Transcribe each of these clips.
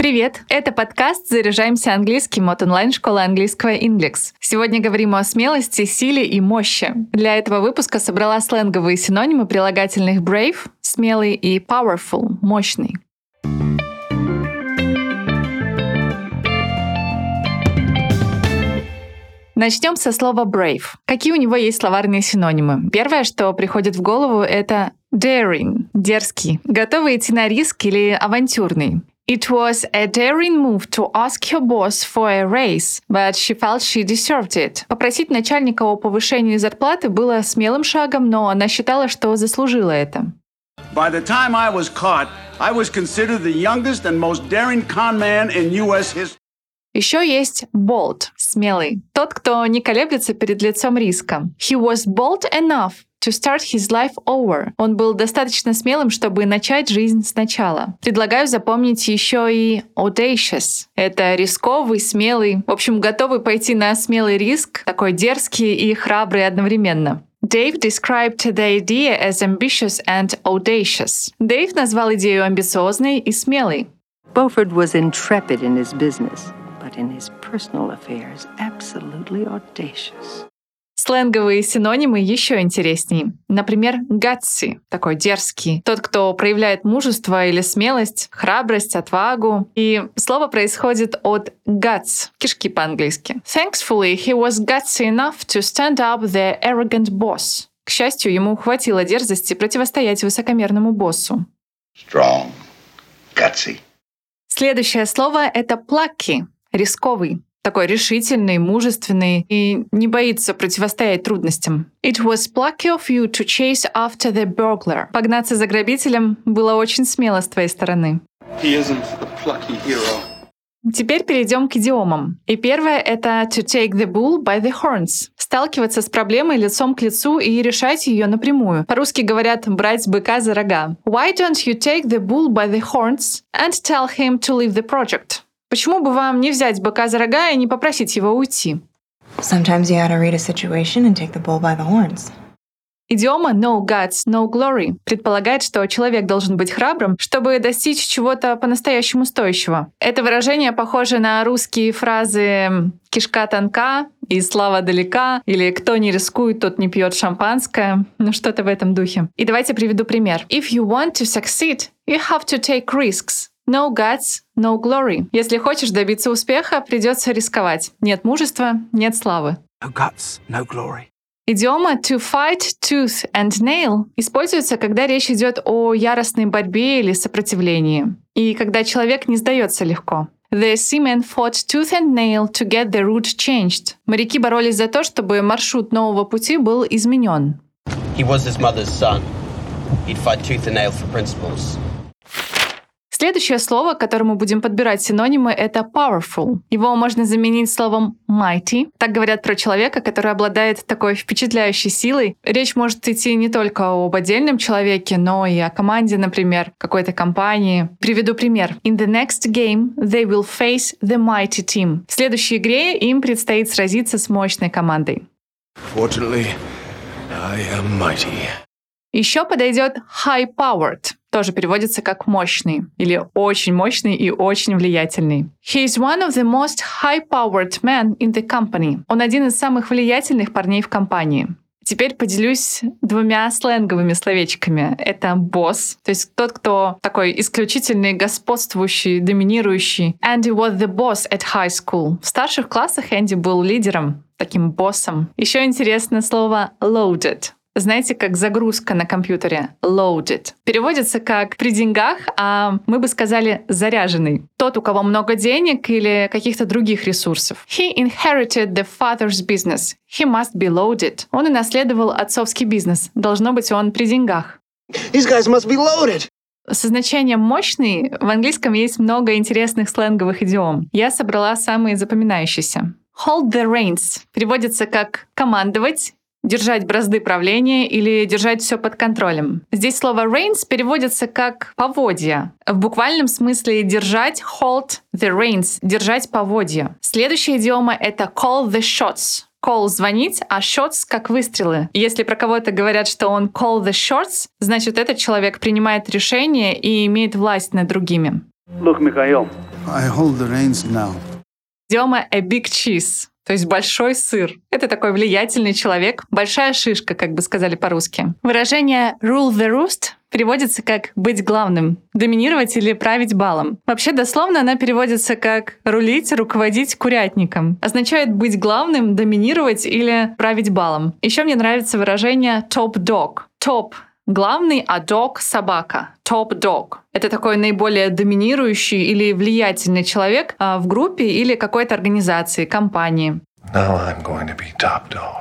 Привет! Это подкаст «Заряжаемся английским» от онлайн-школы английского Inglix. Сегодня говорим о смелости, силе и мощи. Для этого выпуска собрала сленговые синонимы прилагательных brave — смелый и powerful — мощный. Начнем со слова brave. Какие у него есть словарные синонимы? Первое, что приходит в голову, это daring — дерзкий, готовый идти на риск или авантюрный. It was a daring move to ask her boss for a raise, but she felt she deserved it. Попросить начальника о повышении зарплаты было смелым шагом, но она считала, что заслужила это. By the time I was caught, I was considered the youngest and most daring con man in U.S. history. Еще есть bold — смелый. Тот, кто не колеблется перед лицом риска. He was bold enough to start his life over. Он был достаточно смелым, чтобы начать жизнь сначала. Предлагаю запомнить еще и audacious. Это рисковый, смелый, в общем, готовый пойти на смелый риск, такой дерзкий и храбрый одновременно. Dave described the idea as ambitious and audacious. Дэйв назвал идею амбициозной и смелой. Beaufort was intrepid in his business, but in his personal affairs, absolutely audacious. Сленговые синонимы еще интереснее. Например, gutsy — такой дерзкий. Тот, кто проявляет мужество или смелость, храбрость, отвагу. И слово происходит от guts — кишки по-английски. Thankfully, he was gutsy enough to stand up the arrogant boss. К счастью, ему хватило дерзости противостоять высокомерному боссу. Strong, gutsy. Следующее слово — это plucky — рисковый. Такой решительный, мужественный и не боится противостоять трудностям. It was plucky of you to chase after the burglar. Погнаться за грабителем было очень смело с твоей стороны. He isn't a plucky hero. Теперь перейдем к идиомам. И первое — это to take the bull by the horns. Сталкиваться с проблемой лицом к лицу и решать ее напрямую. По-русски говорят «брать быка за рога». Why don't you take the bull by the horns and tell him to leave the project? Почему бы вам не взять быка за рога и не попросить его уйти? Sometimes you gotta read a situation and take the bull by the horns. Идиома «no guts, no glory» предполагает, что человек должен быть храбрым, чтобы достичь чего-то по-настоящему стоящего. Это выражение похоже на русские фразы «кишка тонка» и «слава далека» или «кто не рискует, тот не пьет шампанское». Ну, что-то в этом духе. И давайте приведу пример. If you want to succeed, you have to take risks. No guts, no glory. Если хочешь добиться успеха, придется рисковать. Нет мужества, нет славы. No guts, no glory. Идиома to fight tooth and nail используется, когда речь идет о яростной борьбе или сопротивлении, и когда человек не сдается легко. The seamen fought tooth and nail to get the route changed. Моряки боролись за то, чтобы маршрут нового пути был изменен. He was his mother's son. He'd fight tooth and nail for principles. Следующее слово, к которому будем подбирать синонимы, это powerful. Его можно заменить словом mighty. Так говорят про человека, который обладает такой впечатляющей силой. Речь может идти не только об отдельном человеке, но и о команде, например, какой-то компании. Приведу пример. In the next game, they will face the mighty team. В следующей игре им предстоит сразиться с мощной командой. Fortunately, I am mighty. Еще подойдет high-powered. Тоже переводится как «мощный» или «очень мощный» и «очень влиятельный». He is one of the most high-powered men in the company. Он один из самых влиятельных парней в компании. Теперь поделюсь двумя сленговыми словечками. Это «босс», то есть тот, кто такой исключительный, господствующий, доминирующий. Andy was the boss at high school. В старших классах Энди был лидером, таким боссом. Еще интересно слово «loaded». Знаете, как загрузка на компьютере loaded. Переводится как «при деньгах», а мы бы сказали «заряженный». Тот, у кого много денег или каких-то других ресурсов. He inherited the father's business. He must be loaded. Он унаследовал отцовский бизнес. Должно быть, он при деньгах. These guys must be loaded. Со значением «мощный» в английском есть много интересных сленговых идиом. Я собрала самые запоминающиеся. Hold the reins переводится как «командовать», держать бразды правления или держать все под контролем. Здесь слово reins переводится как поводья. В буквальном смысле держать hold the reins, держать поводья. Следующая идиома — это call the shots. Call — звонить, а shots — как выстрелы. Если про кого-то говорят, что он call the shots, значит, этот человек принимает решения и имеет власть над другими. Look, Mikhail, I hold the reins now. Идиома a big cheese, то есть большой сыр. Это такой влиятельный человек, большая шишка, как бы сказали по-русски. Выражение rule the roost переводится как «быть главным», «доминировать» или «править балом». Вообще, дословно она переводится как «рулить, руководить курятником». Означает быть главным, доминировать или править балом. Еще мне нравится выражение top dog. Top — главный, а dog — собака. Top dog. Это такой наиболее доминирующий или влиятельный человек в группе или какой-то организации, компании. Now I'm going to be top dog.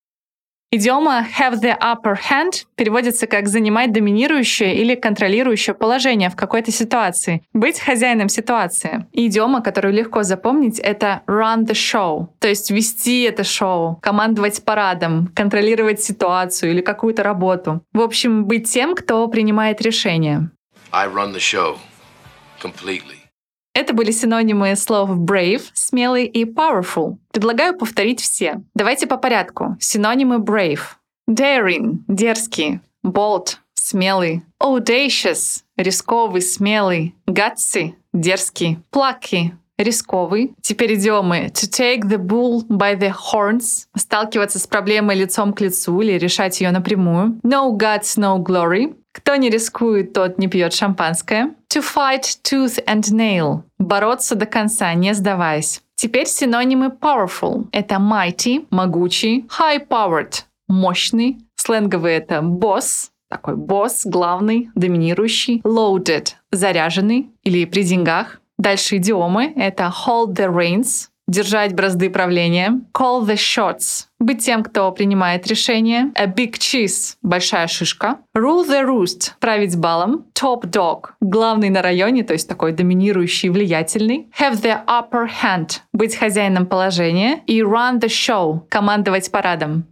Идиома have the upper hand переводится как занимать доминирующее или контролирующее положение в какой-то ситуации, быть хозяином ситуации. И идиома, которую легко запомнить, это run the show, то есть вести это шоу, командовать парадом, контролировать ситуацию или какую-то работу. В общем, быть тем, кто принимает решения. I run the show completely. Это были синонимы слов brave, смелый и powerful. Предлагаю повторить все. Давайте по порядку. Синонимы brave. Daring — дерзкий. Bold — смелый. Audacious — рисковый, смелый. Gutsy — дерзкий. Plucky — рисковый. Теперь идиомы to take the bull by the horns — сталкиваться с проблемой лицом к лицу или решать ее напрямую. No guts, no glory — кто не рискует, тот не пьет шампанское. To fight tooth and nail — бороться до конца, не сдаваясь. Теперь синонимы powerful — это mighty — могучий, high-powered — мощный, сленговый — это boss — такой босс, главный, доминирующий, loaded — заряженный или при деньгах. Дальше идиомы — это hold the reins — держать бразды правления, call the shots — быть тем, кто принимает решения, a big cheese — большая шишка, rule the roost — править балом, top dog — главный на районе, то есть такой доминирующий, влиятельный, have the upper hand — быть хозяином положения и run the show — командовать парадом.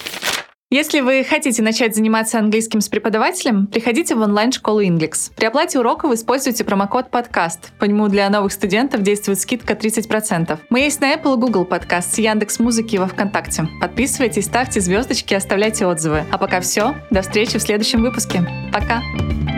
Если вы хотите начать заниматься английским с преподавателем, приходите в онлайн-школу Inglix. При оплате уроков используйте промокод «Подкаст». По нему для новых студентов действует скидка 30%. Мы есть на Apple и Google Podcast, Яндекс.Музыки и во Вконтакте. Подписывайтесь, ставьте звездочки, оставляйте отзывы. А пока все. До встречи в следующем выпуске. Пока!